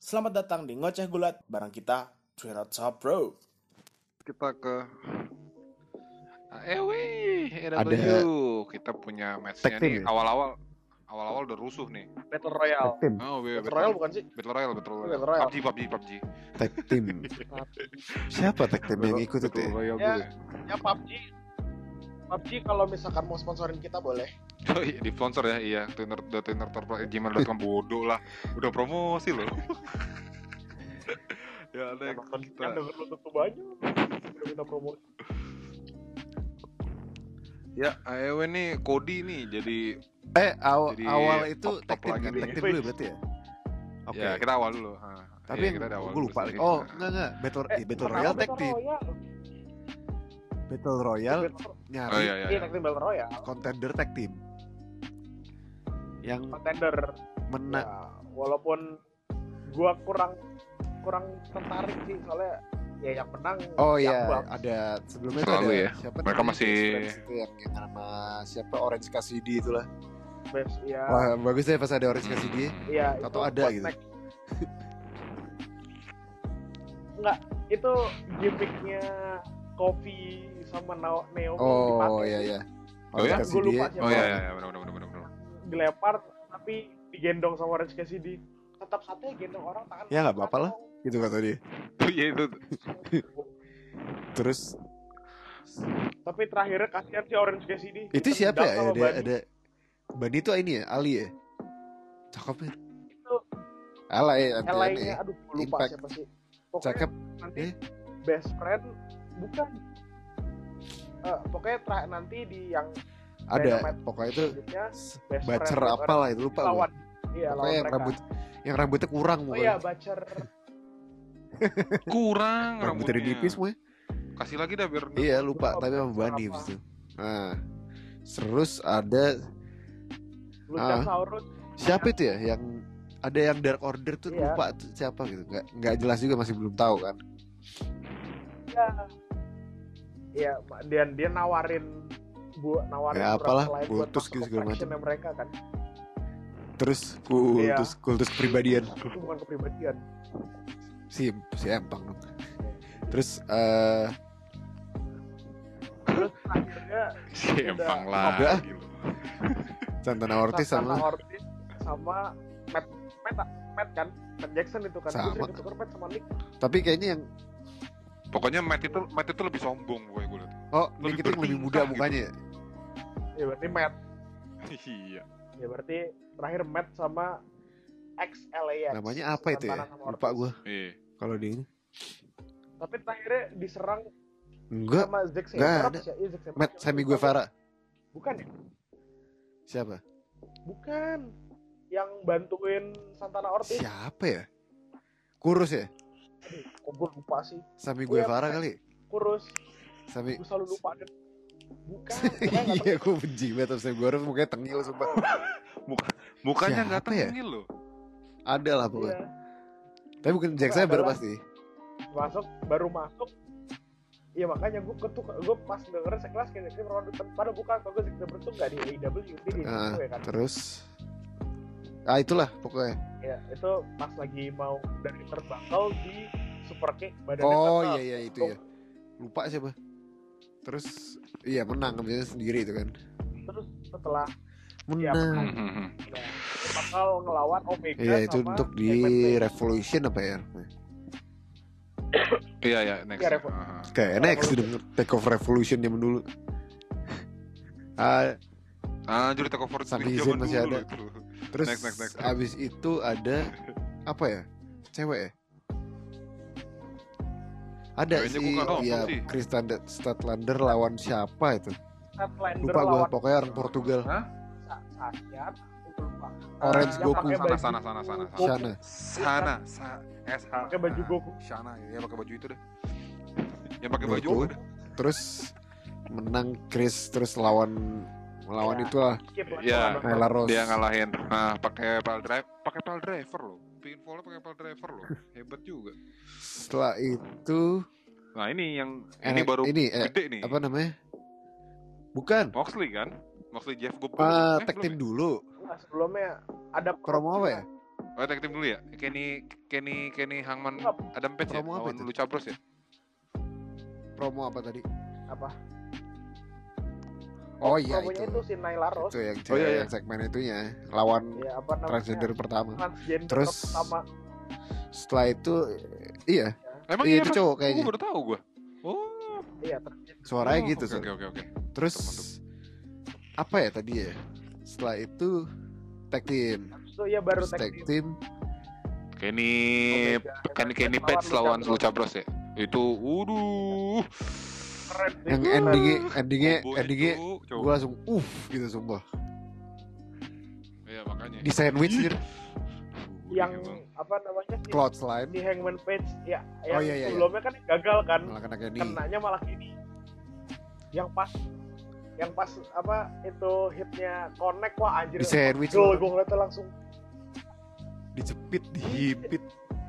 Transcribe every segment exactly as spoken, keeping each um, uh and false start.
Selamat datang di Ngoceh Gulat bareng kita, Twin Top Bro. Kita ke Ewi E W. Ada Kita punya matchnya nih. ya? Awal-awal Awal-awal udah rusuh nih. Battle Royale. Tag team. Oh, Battle, Battle Royale bukan sih? Battle Royale, Battle Royale. Battle Royale. P U B G, P U B G, P U B G. Tag team. Siapa tag team yang ikut itu? Battle Ya? Royale Ya. gue. Ya P U B G. P U B G kalau misalkan mau sponsorin kita boleh. Oh iya, di sponsor ya, iya. Twinner, twinner gmail dot com bodoh lah. Udah promosi loh. Ya, ada Yang nonton kita. yang denger lu tuh banyak. Udah minta promosi. Ya, A E W nih Cody nih jadi Eh aw- Jadi awal itu top-top tag team lagi kan? nih. Tag team dulu berarti ya? Oke. ya kita awal dulu. Ha. Tapi Iya, yang kita ada awal gue dulu lupa. sedikit. Oh, Nah. enggak enggak. Battle Eh, eh, Battle kenapa Royale tag Battle team. Royale? Battle Royale Battle- nyari Oh iya Iya, iya. tag team Battle Royale. contender tag team. Yang Contender. menang. Ya, walaupun gua kurang kurang tertarik sih soalnya ya yang menang. Oh yang iya, Bucks. ada sebelumnya tuh Selalu ada ya. siapa Mereka namanya? masih- Best Friends itu yang, yang nama siapa Orange Cassidy itulah. Best, ya. Wah, bagus deh pas ada Orange Hmm. Cassidy. Iya, Atau itu ada buat gitu. next. Enggak, itu gimmicknya Kofi sama Nao- Naomi Oh dipakai. iya iya. Oh ya? Orange Gua Cassidy. lupa ya. siapa. Oh iya iya iya, benar benar benar benar. Dilempar tapi digendong sama Orange Cassidy. Tetap satunya gendong orang tangan. Ya, nggak apa-apa lah. Gitu kata dia. Oh iya itu. Terus Tapi terakhirnya kasihan si Orange Cassidy. itu siapa Ditendang ya? sama Ada Bunny. ada Bani itu ini ya, Ali ya. Cakep ya. Itu Ala ya, L A-nya, anti aduh gua lupa Impact. siapa sih. Pokoknya Cakep. nanti Eh. best friend bukan. Eh, pokoknya terakhir nanti di yang Ada. Dynamite Pokoknya itu selanjutnya best Bacer friend apa lah itu lupa gua. lawan. Iya, lawan Pokoknya yang mereka. rambut yang rambutnya kurang Oh mukanya. iya, Bacer. Kurang Rambutnya rambutnya. nipis semua. Kasih lagi dah biar. Iya, lupa Lupa tapi sama Bacer Bani apa. abis itu. Nah. Terus ada Luchasaurus. siapa itu ya yang ada yang Dark Order tuh Iya. lupa tuh siapa gitu. Enggak enggak jelas juga, masih belum tahu kan. Iya. Iya, dia dia nawarin bu nawarin Ya, surat apalah, selain buat kultus masuk gitu ke segala macam. factionnya mereka kan. Terus kultus Iya. kultus kepribadian. Itu bukan kepribadian. Si si Empang dong. Terus eh Terus akhirnya Si Empang Udah. lagi loh. Santana Ortiz Santana sama Ortiz sama Matt Matt, Matt kan Matt Jackson itu kan. Sama. Gue sering ketukar Matt sama Nick. tapi kayaknya yang Pokoknya Matt itu Matt itu lebih sombong gue gue liat. oh Lebih Nick itu yang lebih muda bertingkah mukanya ya? Ya berarti Matt. Iya. Ya berarti terakhir Matt sama X L A X. Namanya apa itu ya? Santana sama Lupa Ortiz. gue Iya. kalau di ini. Tapi terakhirnya diserang Enggak, sama Zack nggak Sabre. ada. Ya, iya, Zack Sabre. Matt Sammy Guevara. Bukan ya? Siapa? Bukan. Yang bantuin Santana Ortiz. Siapa ya? Kurus ya? Aduh, kok gue lupa sih. Sammy Oh, ya, Guevara Matt. kali. Kurus. Sammy Gue selalu lupa deh. Bukan. Pokoknya nggak Iya, gue benci banget sama Sammy Guevara, mukanya tengil sumpah. Muka mukanya nggak Siapa ya? tengil loh. Ada lah tahu. pokoknya. Iya. Tapi bukan Jack Pokoknya Sabre adalah- pasti. Masuk, baru masuk. Iya makanya gue ketuk, gue pas dengerin sekelas kayak gitu, pada bukan kalau gue Zack Sabre tuh nggak di A E W, dia di Nah, W kan. terus ah itulah pokoknya. Ya itu pas lagi mau dari terbakal di super kick badannya Oh tetap. iya iya itu ya. Lupa siapa. Terus iya menang ambilnya sendiri itu kan. Terus setelah Iya, Menang. Hmm. ya, bakal ngelawan Omega Iya itu sama untuk di Evan Page. Revolution apa ya? Iya ya next. Iya, Revo. Ah. Kayak N X udah take off Revolution zaman dulu. Ah, Ah, jadi take over Sami di Zayn zaman masih dulu ada. itu. terus Next, next, next. abis itu ada apa ya? Cewek ya? Ada Kayaknya sih, gua nggak nonton ya sih. Kristen Statlander lawan siapa itu? Statlander Lupa gue, lawan pokoknya orang Portugal. Hah? Sa- Sakyat, gue lupa. Orange Eh, yang Goku. pakai Sana baju sana sana sana. Goku. Shana. Sana, sa, S H. Pakai baju Goku. Shana, ya pakai baju itu deh. Yang pakai baju Goku. apa deh? Terus menang Chris, terus lawan melawan Ya. itulah Skip lah, Iya. kalau Nyla Rose. Dia ngalahin. Nah, pakai pile drive, pakai pile driver loh. Pinfall pakai pile driver loh. Hebat juga. Setelah itu Nah, ini yang ini Enak- baru ini, eh, gede nih. apa namanya? Bukan. Moxley kan? Moxley Jeff Goldberg. Ah, Eh, tag belum team ya? dulu. Enggak, sebelumnya ada Promo apa ya? Oh, tag team dulu ya. Kenny Kenny Kenny Hangman Enggak. Adam Page ya. Promo apa Lawan itu? Lucha Bros ya. Promo apa tadi? Apa? Oh iya Promonya itu. itu si Nyla Rose. Itu yang, Oh, iya, iya. yang segmen itunya lawan Ya apa namanya? transgender pertama. Transgender Terus- pertama. Setelah itu iya, Emang iya iya itu Mas? cowok Gue kayaknya. baru tahu gue. Oh. Iya, transgender. Suaranya Oh, gitu. Oke Sur. oke oke oke. Terus Mantap, apa ya tadi ya? Setelah itu tag team. Itu ya baru Terus tag tag team. team. Kenny Omega, Kenny Kenny lawan Page lawan Lucha Lucha Bros ya. Itu waduh. Keren sih. Yang endingnya endingnya Kombonya, endingnya Cuk, Cuk. gue langsung uff gitu sumpah. Iya makanya. Di sandwich gitu. yang Iya, Bang. apa namanya sih? Cloud slime. Si Hangman Page ya, Oh, yang iya, iya, sebelumnya kan gagal kan, Malah kena Kenny. kenanya malah gini. Yang pas yang pas apa itu hitnya connect, wah anjir. Di sandwich Gol, loh. gue ngeliatnya langsung Dijepit, dihipit.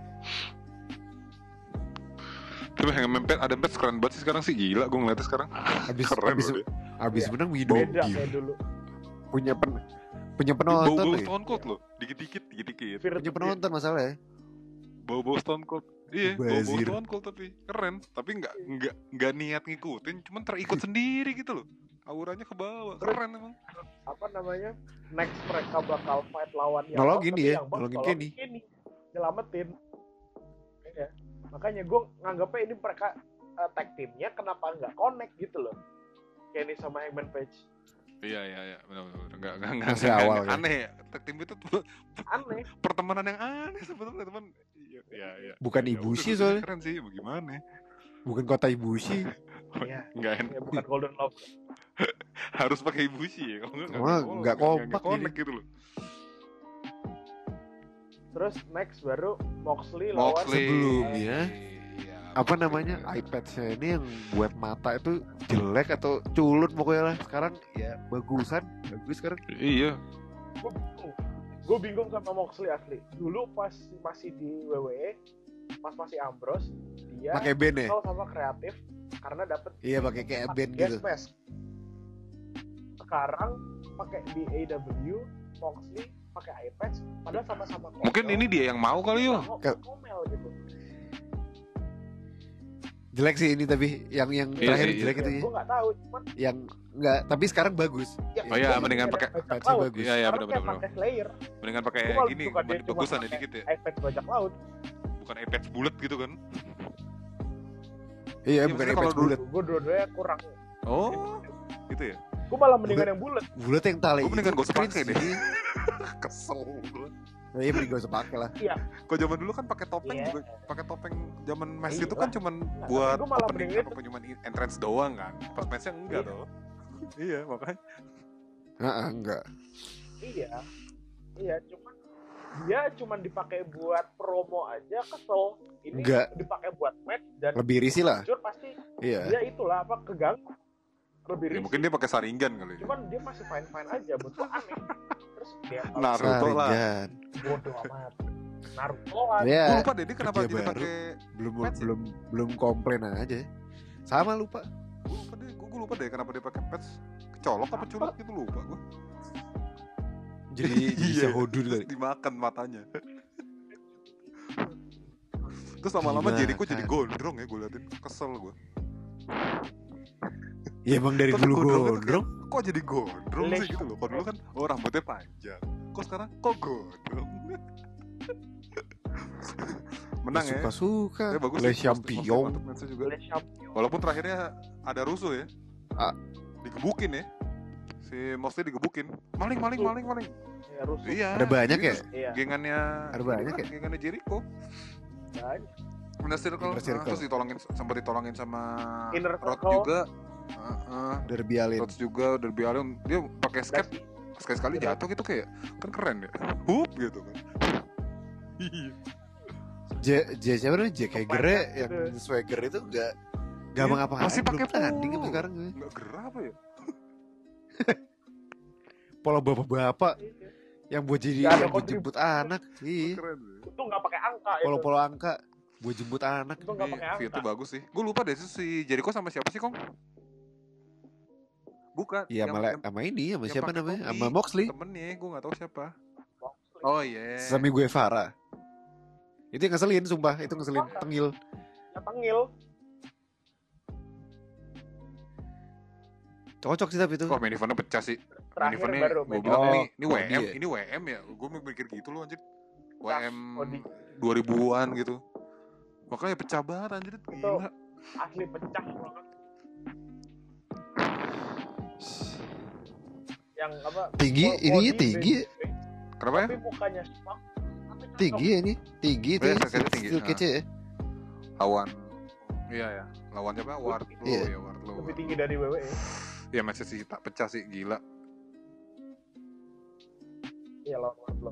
Tapi Hangman Page Adam Page keren banget sih sekarang sih, gila gue ngeliatnya sekarang. Habis Keren habis loh dia. habis Iya. menang minum beda dia. kayak dulu. Punya pen punya Bau-bau penonton loh. Stone Cold loh, dikit-dikit, dikit-dikit. Fear Punya to penonton masalahnya. Bau-bau Stone Cold. Iya, bau-bau Bazir. Stone Cold tapi keren. Tapi nggak nggak nggak niat ngikutin, cuman terikut sendiri gitu loh. Auranya ke bawah, keren emang. Apa namanya? Next mereka bakal fight lawan yang Nolongin tapi dia, yang Bucks nolongin nolongin Kenny. Kenny. Nyelamatin. Iya. Makanya gue nganggapnya ini mereka uh, tag teamnya kenapa nggak connect gitu loh. Kenny sama Hangman Page. Iya iya iya, benar-benar enggak enggak enggak Masih enggak- awal enggak kan? aneh ya. Tag team itu tuh Aneh. pertemanan yang aneh sebetulnya teman. Iya iya iya. Bukan Ya Ibushi udah, soalnya. keren sih, bagaimana? Bukan kota Ibushi. Iya. Enggak enak. Ya, bukan Golden Love. Harus pakai Ibushi ya, kalau enggak Wah, nggak kompak connect gitu loh. Terus next baru Moxley lawan Moxley. Sebelumnya, Iya, Apa Moxley. namanya? iPad-nya ini yang buat mata itu jelek atau culun pokoknya lah. Sekarang ya bagusan, bagus sekarang. Iya. gue bingung. Gue bingung sama Moxley asli. Dulu pas masih di W W E, pas masih Ambrose, dia Pakai band ya? kesel sama kreatif karena dapet Iya, pakai kayak band guest gitu. mask. Sekarang pakai di A E W, Moxley pakai iPad, padahal sama-sama komel. Mungkin ini dia yang mau kali yo. Nggak Ke- komel gitu. Jelek sih ini tapi yang yang Iya terakhir sih, jelek Ya, itu ya. gue nggak tahu, cuman Yang enggak, tapi sekarang bagus. ya, Oh iya, gua mendingan pakai pakai bajak patch laut. bagus. Iya iya Sekarang benar-benar. kayak pakai Slayer. Mendingan pakai Gua malah gini, suka dia cuma bagusan ya pakai dikit ya. iPad bajak laut. Bukan iPad bulat gitu kan. Iya, Iya, bukan maksudnya iPad kalau dulu- bulat. Gue dua-duanya kurang. Oh, gitu ya. Gue malah mendingan yang bulat. Bulat yang tali Gua mendingan itu gak usah pakai cringe deh. sih. Kesel gua. Nah, iya mending gak usah pakai lah. Kok zaman dulu kan pakai topeng Iya. juga, pakai topeng zaman match Iya. itu kan cuman Nggak, buat tapi gua malah opening mending apa cuman entrance doang kan. Pas matchnya enggak Iya. tuh. Iya, makanya. Heeh, enggak. Iya. Iya, cuman dia cuman dipakai buat promo aja kesel. Ini Nggak. dipakai buat match dan Lebih risih lah. jujur pasti Iya. dia itulah apa keganggu. Lebih Ya, risih. mungkin dia pakai saringan kali. ya. Cuman dia masih fine fine aja, buat gua aneh. Terus dia Naruto lah. Saringan. bodoh amat. Naruto lah. Iya. Gue lupa deh dia kenapa kerja jadi baru. pakai. Belum Patch ya? belum belum komplain aja. Sama lupa. Gue lupa deh, gue lupa deh kenapa dia pakai patch. Kecolok apa culuk gitu lupa gue. Jadi jadi Iya. sehodul Terus kali. dimakan matanya. Terus lama-lama Dimakan. Jericho jadi gondrong ya, gue liatin kesel gue. Ya emang dari Tapi dulu gondrongnya tuh gondrong. Kok jadi gondrong sih Lesh. gitu loh. Kalau dulu kan oh rambutnya panjang. Kok sekarang kok gondrong? Menang ya. Suka-suka. Ya, bagus Le sih. champion. Mantap match-nya juga. Oleh champion. Walaupun terakhirnya ada rusuh ya. Ah. Digebukin ya. Si Mosley digebukin. Maling maling maling maling. Ya, rusuh. Iya. Ada banyak ya? Iya. Gengannya Ada banyak ya? Gengannya Jericho. Banyak. Inner Circle, Inner Circle. Nah, terus ditolongin sempat ditolongin sama Inner Rod Circle. juga. Heeh. Derby Allin. Rod juga Derby Allin dia pakai skate sekali-sekali Iya. jatuh gitu kayak kan keren ya. Hup gitu kan. Iya. J J siapa namanya? J Hager Banyak yang gitu. swagger itu enggak gampang apa masih pakai tanding polo. sampai sekarang. Enggak gerah apa ya? Pola bapak-bapak Iya. yang buat jadi Nggak ada yang buat jemput anak. Iya. Keren ya. Itu nggak pakai angka itu. Polo-polo angka buat jemput anak. Itu nggak pakai Ini angka. itu bagus sih. Gue lupa deh itu si Jericho sama siapa sih, Kong? Bukan. Iya, yang- malah yang- sama ini sama yang siapa pakai namanya? topi. Sama Moxley. Temennya, gue gak tahu siapa. Oh iya. Sammy Guevara. Itu yang ngeselin, sumpah. Itu ngeselin, tengil. Ya tengil. Cocok sih tapi itu. Oh, main eventnya pecah sih. Main Terakhir eventnya baru gue main bilang event. ini ini Oh, W M, dia. ini W M ya. Gue mikir gitu loh anjir. W M Oh, di- dua ribuan gitu. Makanya pecah banget anjir, Itu gila. asli pecah banget. Yang apa? Tinggi, full ininya body tinggi. baby, Kenapa ya? tapi mukanya Spark. tapi cakep. Tinggi ya ini. Tinggi itu Iya, ya. kayaknya tinggi. Steel cage ya. Lawan Iya ya, lawannya apa? Wardlow Iya. ya, Wardlow. Lebih tinggi dari W W E. Ya masih sih tak pecah sih, gila. Iya lawan Wardlow.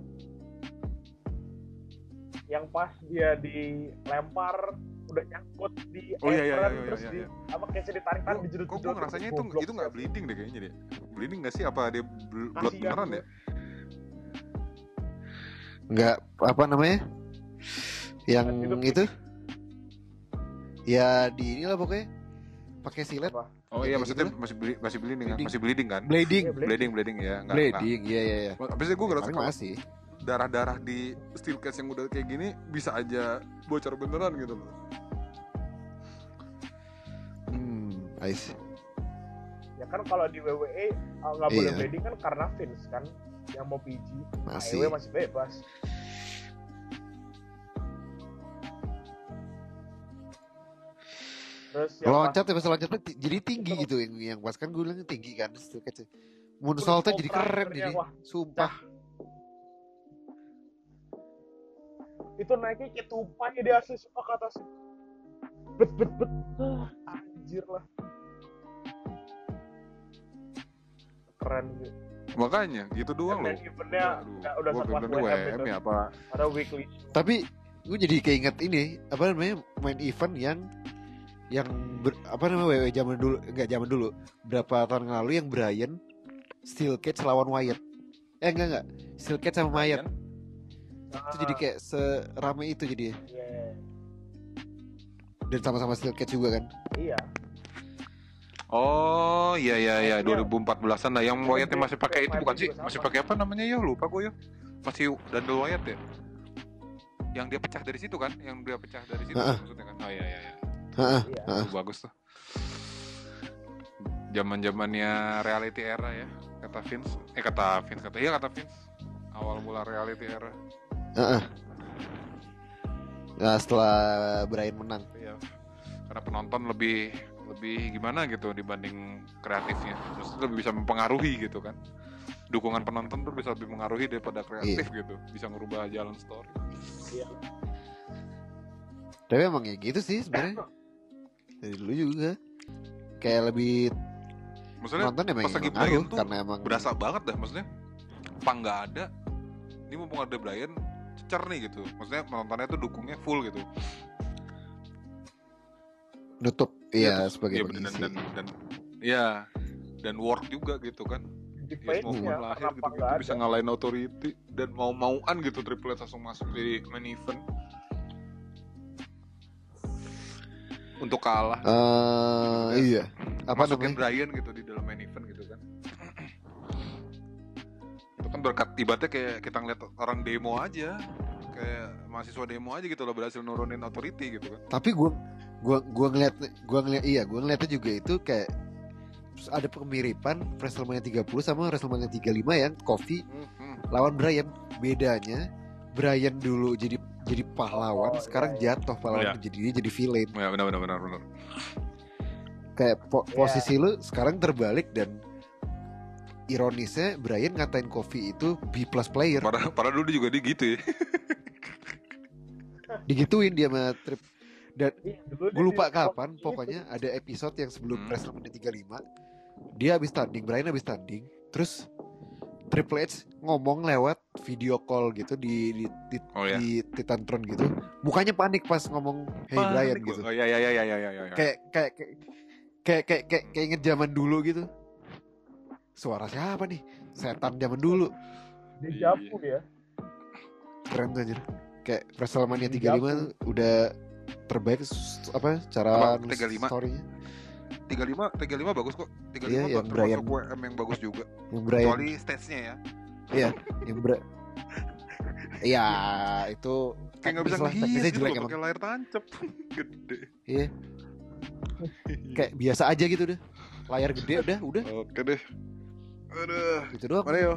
Yang pas dia dilempar udah nyangkut di Oh, iya, iya, apron, iya, iya, terus iya, di iya. apa kayak ditarik-tarik Kok dijedot-jedot. kok gue ngerasanya itu Goblok itu nggak sih. bleeding deh kayaknya deh. Bleeding nggak sih? Apa dia bl- blood Kasihan beneran gua. ya? Enggak apa namanya? Yang Itu itu ya di inilah pokoknya pakai silet. Apa? Oh Kayak iya, gitu maksudnya lah. masih ble- masih bleeding kan? Bleeding. Masih bleeding kan? Bleeding. Iya, bleeding. Bleeding, bleeding ya. Nggak, Bleeding, iya iya iya. nggak. Habisnya gue ngerasa Paling kalau masih. darah-darah di steel cage yang udah kayak gini bisa aja bocor beneran gitu loh. Hmm, I see. Ya kan kalau di W W E uh, nggak boleh Iya. bleeding kan karena Vince kan yang mau P G. Masih. A E W masih bebas. Terus yang pas- Loncat ya pas loncatnya ti- jadi tinggi Itu- gitu yang yang pas kan gue bilang tinggi kan steel cage. Moonsaultnya jadi keren terakhirnya, jadi. wah, Sumpah. itu naiknya kayak tupai dia asli suka ke atas. Bet bet bet. Ah, anjir lah. Keren gitu. Makanya gitu doang loh. Dan eventnya Aduh, nggak- udah gua sekelas bener-bener W M W M itu. ya apa? Ada weekly show. Tapi gue jadi keinget ini apa namanya main event yang yang ber- apa namanya W W E zaman dulu enggak zaman dulu berapa tahun yang lalu yang Brian Steel Cage lawan Wyatt. Eh enggak enggak Steel Cage sama Wyatt. Itu jadi kayak serame itu jadi Iya. dan sama-sama Steel Cage juga kan. Iya. Oh iya iya iya Maksudnya- dua ribu empat belasan lah yang Wyatt yang masih pakai itu Wyatt bukan sih? juga sama. Masih pakai apa namanya ya? Lupa gue ya. Masih Dandel Wyatt ya? Yang dia pecah dari situ kan? Yang dia pecah dari situ Heeh. maksudnya kan? Oh iya iya iya. Heeh. Iya. Heeh. Itu bagus tuh. Zaman-zamannya reality era ya, kata Vince. Eh kata Vince kata iya kata Vince. Awal mula reality era. Heeh. Nah, setelah Brian menang. Iya. Karena penonton lebih lebih gimana gitu dibanding kreatifnya. Terus lebih bisa mempengaruhi gitu kan. Dukungan penonton tuh bisa lebih mengaruhi daripada kreatif gitu. Bisa ngerubah jalan story. Iya. Tapi emang ya gitu sih sebenarnya. Dari dulu juga. Kayak lebih Maksudnya nonton emang pas lagi ngaruh Brian tuh karena emang berasa banget dah maksudnya. Pang nggak ada. Ini mumpung ada Brian cecer nih gitu. Maksudnya penontonnya tuh dukungnya full gitu. nutup Iya, ya terus- sebagai iya, dan, pengisi. dan, dan ya dan work juga gitu kan. Di Ya semua page pemain ya, lahir kenapa gitu, nggak gitu bisa ada? ngalahin authority dan mau-mauan gitu Triple H langsung masuk di main event untuk kalah. Eh, iya. Apa Masukin namanya? Brian gitu di dalam main event gitu kan. Itu kan berkat ibaratnya kayak kita ngeliat orang demo aja, kayak mahasiswa demo aja gitu loh berhasil nurunin authority gitu kan. Tapi gua gua gua ngeliat gua ngeliat iya, gua ngeliatnya juga itu kayak ada kemiripan WrestleMania tiga puluh sama WrestleMania tiga puluh lima yang Kofi Hmm, hmm. lawan Brian. Bedanya Brian dulu jadi jadi pahlawan, Oh, sekarang iya, iya. jatuh pahlawan Iya. jadi dia jadi villain. Ya benar benar benar benar. Kayak po- Iya. posisi lu sekarang terbalik dan ironisnya Brian ngatain Kofi itu B plus player. Padahal padahal dulu juga dia gitu ya. Digituin dia sama Trip. Dan Iya, dulu gue dia lupa di- kapan, gitu. pokoknya ada episode yang sebelum Hmm. WrestleMania tiga puluh lima. Dia habis tanding, Brian habis tanding. Terus Triple H ngomong lewat video call gitu di di di, Oh ya. di Titantron gitu. Mukanya panik pas ngomong Hey Brian gitu. Oh iya iya iya iya iya iya. Kayak kayak kayak kayak kayak kayak, kayak inget zaman dulu gitu. Suara siapa nih? Setan zaman dulu. Di Iya. Japu ya. Keren tuh anjir. Kayak WrestleMania Di tiga puluh lima Japu. tuh udah terbaik s- apa cara Apa, nulis tiga puluh lima? story-nya. tiga puluh lima tiga puluh lima bagus kok. tiga puluh lima Iya, tuh yang Brian. termasuk W M yang bagus juga. Yang Brian Kecuali stage-nya ya. iya, yang Bra- Iya, itu Kayak nggak bisa teknis lah, ngehias teknisnya gitu jelek loh emang. pakai layar tancap gede. Iya. Kayak biasa aja gitu deh. Layar gede udah, udah. Oke deh. Aduh. Gitu doang. Mana yo?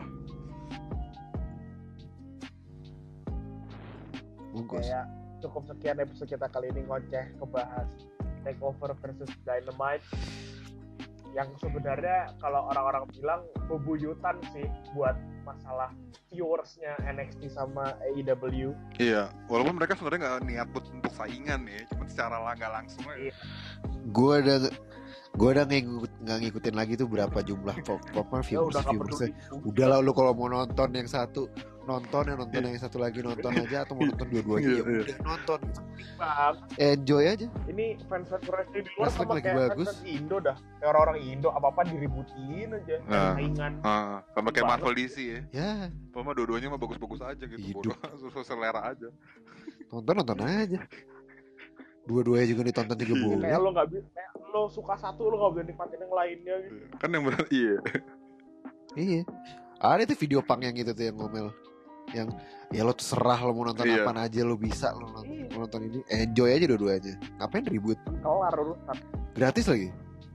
Bungkus. Kayak cukup sekian episode kita kali ini ngoceh ngebahas Takeover versus Dynamite yang sebenarnya kalau orang-orang bilang bebuyutan sih buat masalah viewersnya N X T sama A E W. Iya, walaupun mereka sebenarnya nggak niat buat untuk saingan ya, cuma secara nggak langsung aja. Iya. Gue udah gue udah ngikut, nggak ngikutin lagi tuh berapa jumlah pop popnya Ya viewers udah nggak viewersnya. peduli. Udah lah lu kalau mau nonton yang satu nonton yang nonton yang satu lagi nonton aja atau mau nonton dua-duanya ya Iya, iya. udah nonton gitu. Bang, Enjoy aja. ini fans fans wrestling di luar Wrestling sama lagi kayak bagus. fans Indo dah. Kayak orang-orang Indo apa-apa diributin aja. Nah. Saingan. Ah, sama kayak Banget. Marvel D C ya. Ya, Pokoknya dua-duanya mah bagus-bagus aja gitu, Hidup. bodoh, sesuai selera aja. nonton nonton aja. Dua-duanya juga ditonton juga Iya, boleh. Kayak lo nggak bisa, kayak lo suka satu lo nggak bisa nikmatin yang lainnya gitu. Kan yang benar iya. Iya. Ada tuh video punk yang gitu tuh yang ngomel. Yang ya lo terserah lo mau nonton Iya. apaan aja lo bisa lo nonton, Iya. mau nonton ini. Enjoy aja dua-duanya. Ngapain ribut? Kelar urusan. Gratis lagi.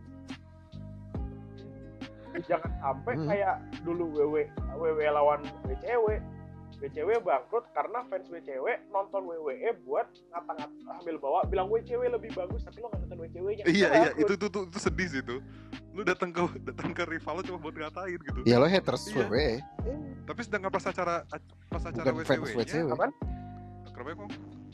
Jangan sampai Hmm. kayak dulu W W W W lawan W C W. W C W bangkrut karena fans W C W nonton W W E buat ngata-ngata ambil bawa bilang W C W lebih bagus tapi lo nggak nonton W C W-nya. Iya iya itu tuh, tuh itu sedih sih itu. Lu datang ke datang ke rival lu cuma buat ngatain gitu. Ya lo haters Iya. W W E. Tapi sedangkan pas acara pas acara Bukan W C fans W C W. W-nya Apaan? kenapa kok?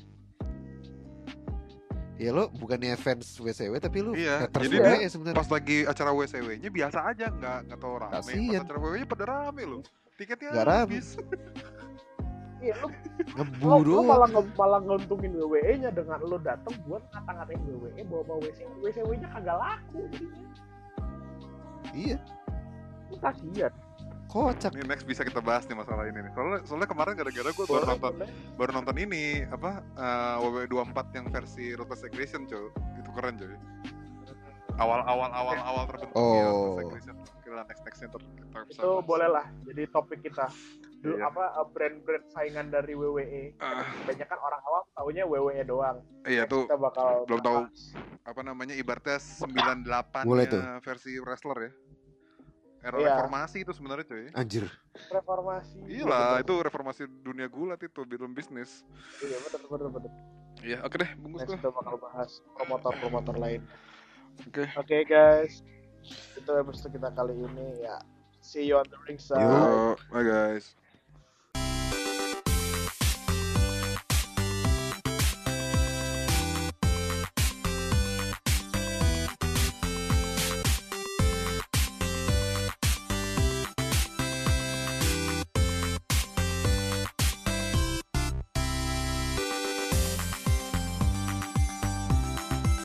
Ya lo bukannya fans W C W tapi lo Iya, haters jadi W W E dia sebenarnya. Pas lagi acara W C W-nya biasa aja, nggak nggak tau rame. Kasian. Pas acara W W E-nya pada rame loh. Tiketnya Nggak rame. habis. Iya lo, lo, Ngeburu. lo malah nge- malah nguntungin W W E-nya dengan lo datang buat ngata-ngatain W W E bawa-bawa W C W. W C W-nya kagak laku jadinya. Iya, Lo kasihan. kocak. Ini next bisa kita bahas nih masalah ini nih. Soalnya soalnya kemarin gara-gara gue baru Boleh, nonton boleh. baru nonton ini apa eh, W W E dua puluh empat yang versi Ruthless Aggression cuy. Itu keren cuy. Awal-awal awal-awal terbentuknya Oh. Ruthless Aggression. Kira next nextnya ter kita bisa Itu bahas. boleh lah jadi topik kita. Dulu Iya. apa uh, brand-brand saingan dari W W E. Ah. Kebanyakan orang awam taunya W W E doang. Iya Next tuh kita bakal belum tahu bahas. apa namanya ibaratnya sembilan puluh delapan Boleh tuh. versi wrestler ya. Era Iya. reformasi itu sebenarnya cuy. Anjir. Reformasi. Iya lah, itu reformasi dunia gulat itu film bisnis. Iya betul betul betul. Iya, oke deh, bungkus Next tuh. kita bakal bahas promotor-promotor lain. Oke. Oke guys, itu episode kita kali ini ya. See you on the ringside. Yo, bye guys.